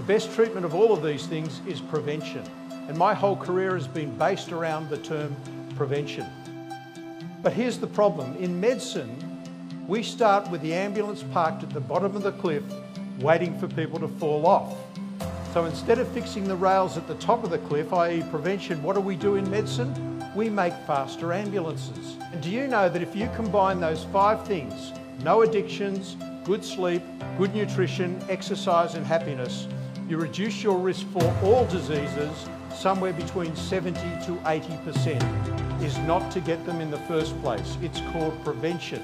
best treatment of all of these things is prevention. And my whole career has been based around the term prevention. But here's the problem. In medicine, we start with the ambulance parked at the bottom of the cliff, waiting for people to fall off. So instead of fixing the rails at the top of the cliff, i.e. prevention, what do we do in medicine? We make faster ambulances. And do you know that if you combine those 5 things, no addictions, good sleep, good nutrition, exercise and happiness, you reduce your risk for all diseases somewhere between 70 to 80%. Is not to get them in the first place. It's called prevention.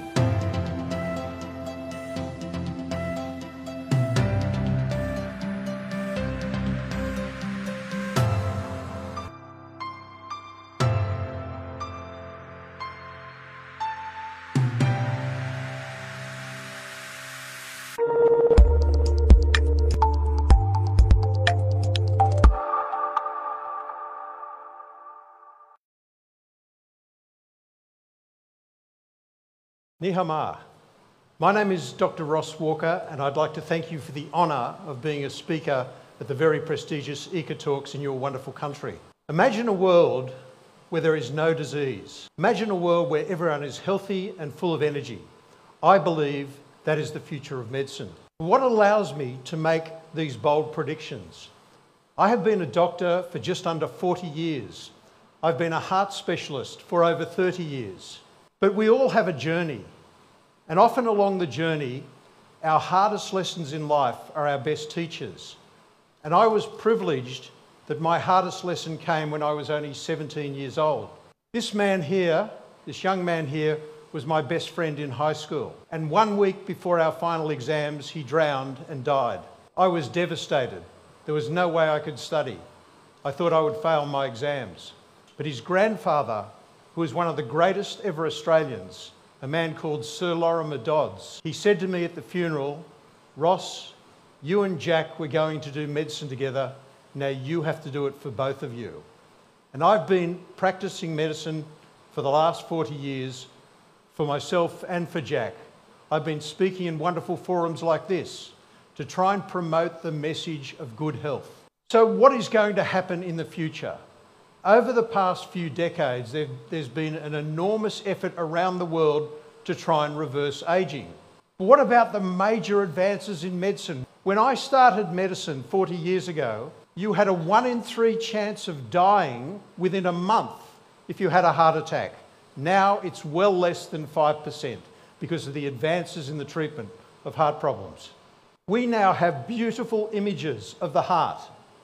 Ni hao ma. My name is Dr. Ross Walker, and I'd like to thank you for the honour of being a speaker at the very prestigious ECOTalks in your wonderful country. Imagine a world where there is no disease. Imagine a world where everyone is healthy and full of energy. I believe that is the future of medicine. What allows me to make these bold predictions? I have been a doctor for just under 40 years. I've been a heart specialist for over 30 years. But we all have a journey. And often along the journey, our hardest lessons in life are our best teachers. And I was privileged that my hardest lesson came when I was only 17 years old. This man here, this young man here, was my best friend in high school. And 1 week before our final exams, he drowned and died. I was devastated. There was no way I could study. I thought I would fail my exams. But his grandfather, who was one of the greatest ever Australians, a man called Sir Lorimer Dodds, he said to me at the funeral, "Ross, you and Jack were going to do medicine together. Now you have to do it for both of you." And I've been practicing medicine for the last 40 years for myself and for Jack. I've been speaking in wonderful forums like this to try and promote the message of good health. So what is going to happen in the future? Over the past few decades, there's been an enormous effort around the world to try and reverse ageing. But what about the major advances in medicine? When I started medicine 40 years ago, you had a 1 in 3 chance of dying within a month if you had a heart attack. Now it's well less than 5% because of the advances in the treatment of heart problems. We now have beautiful images of the heart,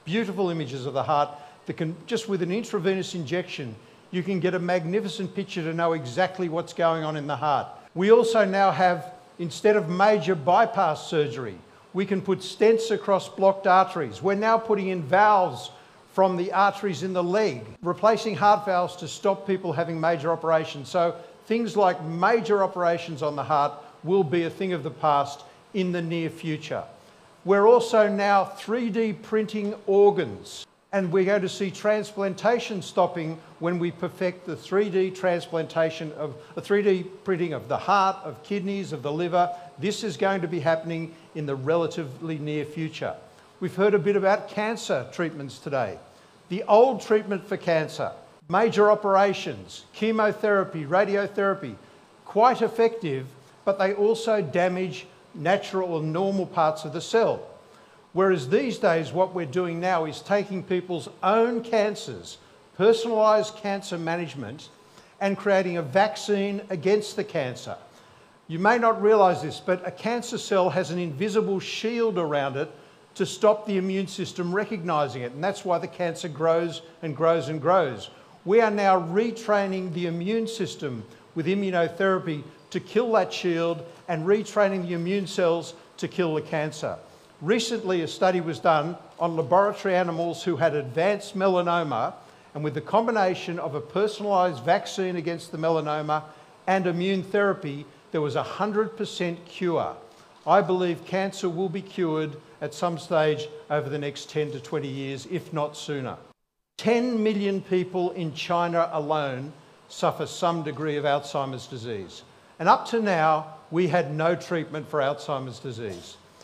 that can, just with an intravenous injection, you can get a magnificent picture to know exactly what's going on in the heart. We also now have, instead of major bypass surgery, we can put stents across blocked arteries. We're now putting in valves from the arteries in the leg, replacing heart valves to stop people having major operations. So things like major operations on the heart will be a thing of the past in the near future. We're also now 3D printing organs. And we're going to see transplantation stopping when we perfect the 3D printing of the heart, of kidneys, of the liver. This is going to be happening in the relatively near future. We've heard a bit about cancer treatments today. The old treatment for cancer, major operations, chemotherapy, radiotherapy, quite effective, but they also damage natural or normal parts of the cell. Whereas these days, what we're doing now is taking people's own cancers, personalised cancer management, and creating a vaccine against the cancer. You may not realise this, but a cancer cell has an invisible shield around it to stop the immune system recognising it, and that's why the cancer grows and grows and grows. We are now retraining the immune system with immunotherapy to kill that shield and retraining the immune cells to kill the cancer. Recently, a study was done on laboratory animals who had advanced melanoma, and with the combination of a personalised vaccine against the melanoma and immune therapy, there was a 100% cure. I believe cancer will be cured at some stage over the next 10 to 20 years, if not sooner. 10 million people in China alone suffer some degree of Alzheimer's disease. And up to now, we had no treatment for Alzheimer's disease.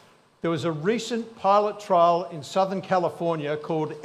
There was a recent pilot trial in Southern California called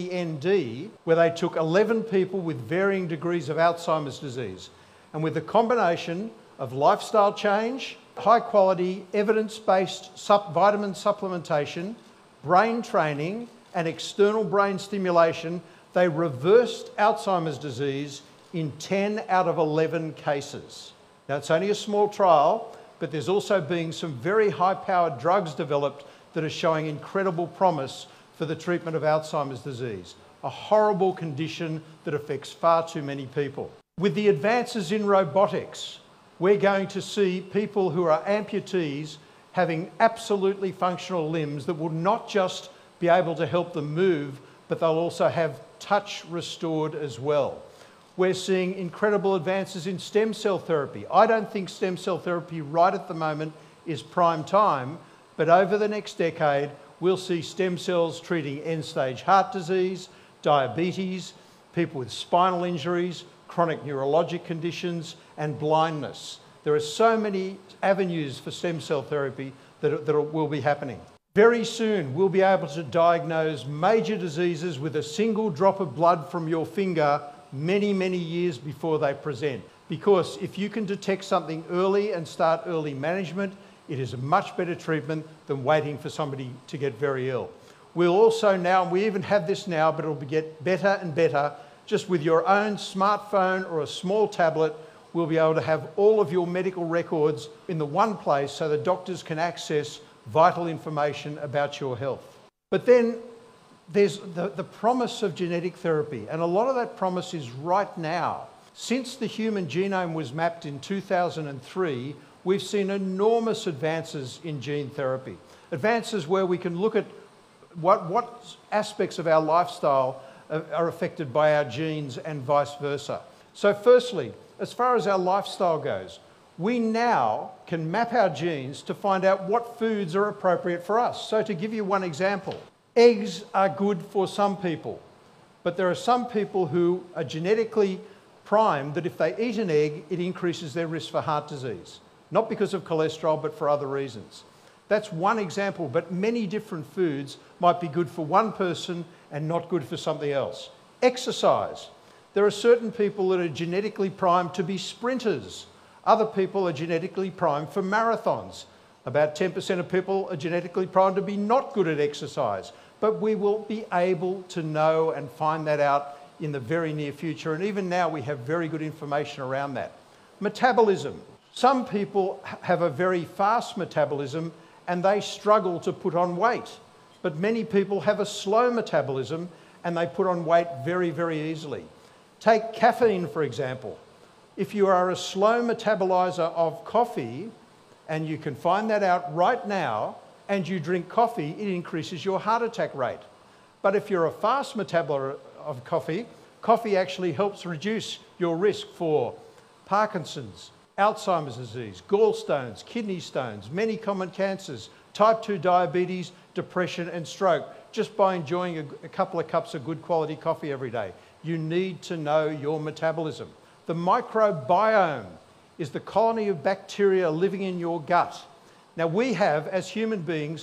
MEND, where they took 11 people with varying degrees of Alzheimer's disease. And with a combination of lifestyle change, high quality, evidence-based vitamin supplementation, brain training, and external brain stimulation, they reversed Alzheimer's disease in 10 out of 11 cases. Now, it's only a small trial, but there's also been some very high-powered drugs developed that are showing incredible promise for the treatment of Alzheimer's disease, a horrible condition that affects far too many people. With the advances in robotics, we're going to see people who are amputees having absolutely functional limbs that will not just be able to help them move, but they'll also have touch restored as well. We're seeing incredible advances in stem cell therapy. I don't think stem cell therapy right at the moment is prime time, but over the next decade, we'll see stem cells treating end-stage heart disease, diabetes, people with spinal injuries, chronic neurologic conditions, and blindness. There are so many avenues for stem cell therapy that will be happening. Very soon, we'll be able to diagnose major diseases with a single drop of blood from your finger many, many years before they present. Because if you can detect something early and start early management, it is a much better treatment than waiting for somebody to get very ill. We'll also now, we even have this now, but it'll get better and better, just with your own smartphone or a small tablet, we'll be able to have all of your medical records in the one place so the doctors can access vital information about your health. But then there's the promise of genetic therapy, and a lot of that promise is right now. Since the human genome was mapped in 2003, we've seen enormous advances in gene therapy. Advances where we can look at what aspects of our lifestyle are affected by our genes and vice versa. So firstly, as far as our lifestyle goes, we now can map our genes to find out what foods are appropriate for us. So to give you one example, eggs are good for some people, but there are some people who are genetically primed that if they eat an egg, it increases their risk for heart disease. Not because of cholesterol, but for other reasons. That's one example, but many different foods might be good for one person and not good for something else. Exercise. There are certain people that are genetically primed to be sprinters. Other people are genetically primed for marathons. About 10% of people are genetically primed to be not good at exercise. But we will be able to know and find that out in the very near future. And even now we have very good information around that. Metabolism. Some people have a very fast metabolism and they struggle to put on weight. But many people have a slow metabolism and they put on weight very, very easily. Take caffeine, for example. If you are a slow metabolizer of coffee, and you can find that out right now, and you drink coffee, it increases your heart attack rate. But if you're a fast metabolizer of coffee, coffee actually helps reduce your risk for Parkinson's, Alzheimer's disease, gallstones, kidney stones, many common cancers, type 2 diabetes, depression and stroke, just by enjoying a couple of cups of good quality coffee every day. You need to know your metabolism. The microbiome is the colony of bacteria living in your gut. Now we have, as human beings,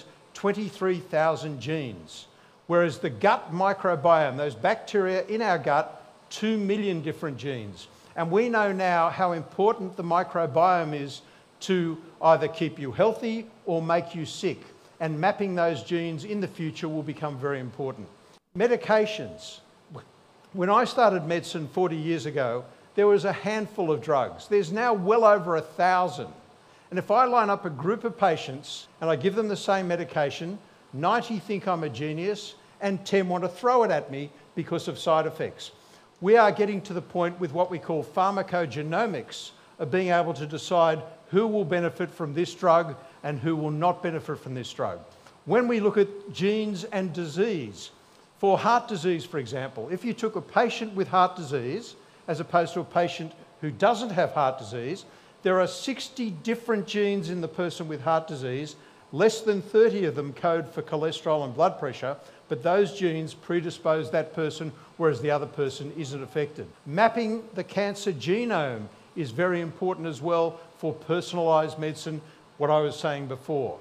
23,000 genes, whereas the gut microbiome, those bacteria in our gut, 2 million different genes. And we know now how important the microbiome is to either keep you healthy or make you sick. And mapping those genes in the future will become very important. Medications. When I started medicine 40 years ago, there was a handful of drugs. There's now well over 1,000. And if I line up a group of patients and I give them the same medication, 90 think I'm a genius and 10 want to throw it at me because of side effects. We are getting to the point with what we call pharmacogenomics of being able to decide who will benefit from this drug and who will not benefit from this drug. When we look at genes and disease, for heart disease, for example, if you took a patient with heart disease as opposed to a patient who doesn't have heart disease, there are 60 different genes in the person with heart disease. Less than 30 of them code for cholesterol and blood pressure, but those genes predispose that person, whereas the other person isn't affected. Mapping the cancer genome is very important as well for personalised medicine, what I was saying before.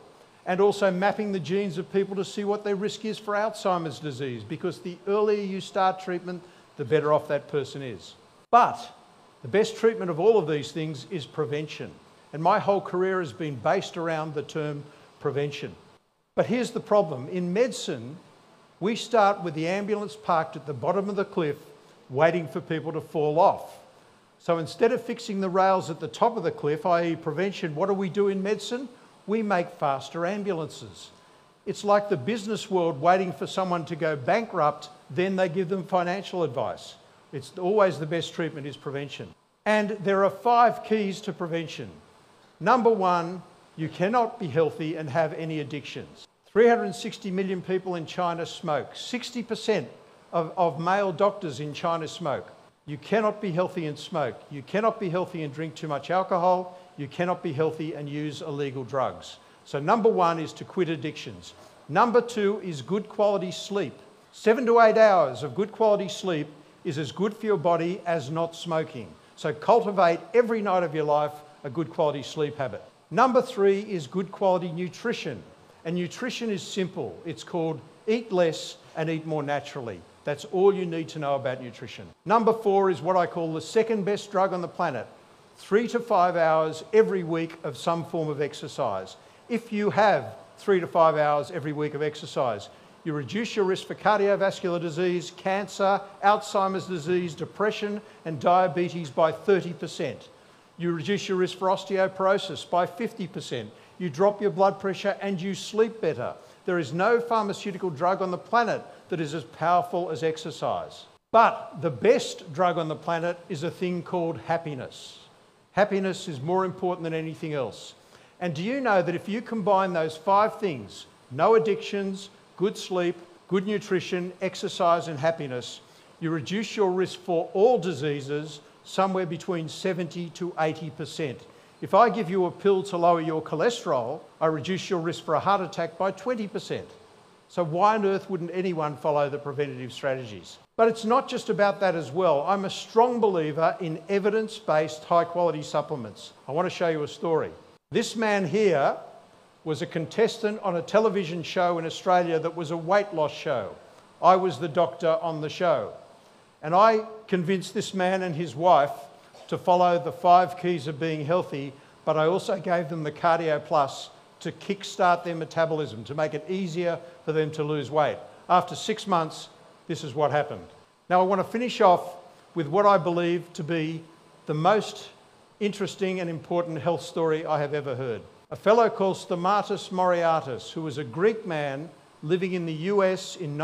and also mapping the genes of people to see what their risk is for Alzheimer's disease, because the earlier you start treatment, the better off that person is. But the best treatment of all of these things is prevention. And my whole career has been based around the term prevention. But here's the problem. In medicine, we start with the ambulance parked at the bottom of the cliff, waiting for people to fall off. So instead of fixing the rails at the top of the cliff, i.e. prevention, what do we do in medicine? We make faster ambulances. It's like the business world waiting for someone to go bankrupt, then they give them financial advice. It's always the best treatment is prevention. And there are 5 keys to prevention. Number 1, you cannot be healthy and have any addictions. 360 million people in China smoke. 60% of male doctors in China smoke. You cannot be healthy and smoke. You cannot be healthy and drink too much alcohol. You cannot be healthy and use illegal drugs. So number 1 is to quit addictions. Number 2 is good quality sleep. 7 to 8 hours of good quality sleep is as good for your body as not smoking. So cultivate every night of your life a good quality sleep habit. Number 3 is good quality nutrition. And nutrition is simple. It's called eat less and eat more naturally. That's all you need to know about nutrition. Number 4 is what I call the second best drug on the planet. 3 to 5 hours every week of some form of exercise. If you have 3 to 5 hours every week of exercise, you reduce your risk for cardiovascular disease, cancer, Alzheimer's disease, depression and diabetes by 30%. You reduce your risk for osteoporosis by 50%. You drop your blood pressure and you sleep better. There is no pharmaceutical drug on the planet that is as powerful as exercise. But the best drug on the planet is a thing called happiness. Happiness is more important than anything else. And do you know that if you combine those 5 things, no addictions, good sleep, good nutrition, exercise and happiness, you reduce your risk for all diseases somewhere between 70 to 80%. If I give you a pill to lower your cholesterol, I reduce your risk for a heart attack by 20%. So why on earth wouldn't anyone follow the preventative strategies? But it's not just about that as well. I'm a strong believer in evidence-based high-quality supplements. I want to show you a story. This man here was a contestant on a television show in Australia that was a weight loss show. I was the doctor on the show. And I convinced this man and his wife to follow the 5 keys of being healthy, but I also gave them the Cardio Plus to kickstart their metabolism, to make it easier for them to lose weight. After 6 months, this is what happened. Now I want to finish off with what I believe to be the most interesting and important health story I have ever heard. A fellow called Stamatis Moriatis, who was a Greek man living in the US in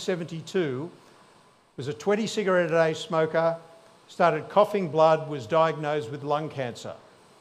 1972, was a 20 cigarette a day smoker, started coughing blood, was diagnosed with lung cancer.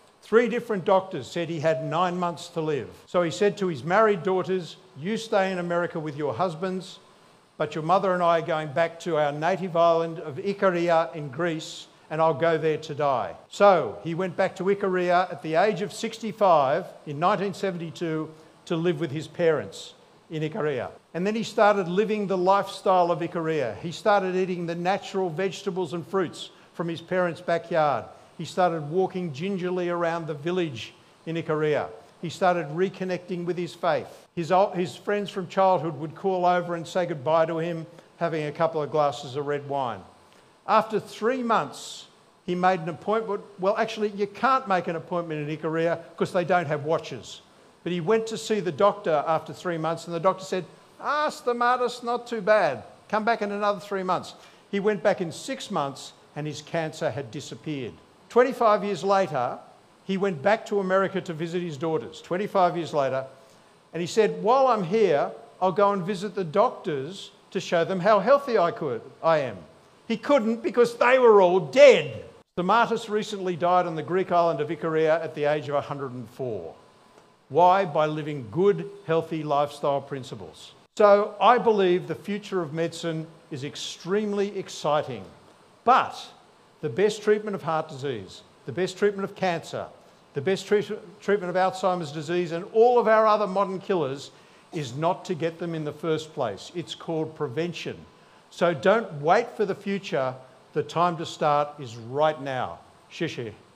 3 different doctors said he had 9 months to live. So he said to his married daughters, you stay in America with your husbands, but your mother and I are going back to our native island of Ikaria in Greece, and I'll go there to die. So he went back to Ikaria at the age of 65 in 1972 to live with his parents in Ikaria. And then he started living the lifestyle of Ikaria. He started eating the natural vegetables and fruits from his parents' backyard. He started walking gingerly around the village in Ikaria. He started reconnecting with his faith. His friends from childhood would call over and say goodbye to him, having a couple of glasses of red wine. After 3 months, he made an appointment. Well, actually, you can't make an appointment in Ikaria because they don't have watches. But he went to see the doctor after 3 months, and the doctor said, Stamatis, not too bad. Come back in another 3 months. He went back in 6 months, and his cancer had disappeared. 25 years later, he went back to America to visit his daughters, 25 years later, and he said, while I'm here, I'll go and visit the doctors to show them how healthy I am. He couldn't because they were all dead. Stamatis recently died on the Greek island of Ikaria at the age of 104. Why? By living good, healthy lifestyle principles. So I believe the future of medicine is extremely exciting. But the best treatment of heart disease, the best treatment of cancer, the best treatment of Alzheimer's disease and all of our other modern killers is not to get them in the first place. It's called prevention. So don't wait for the future. The time to start is right now. Xie xie.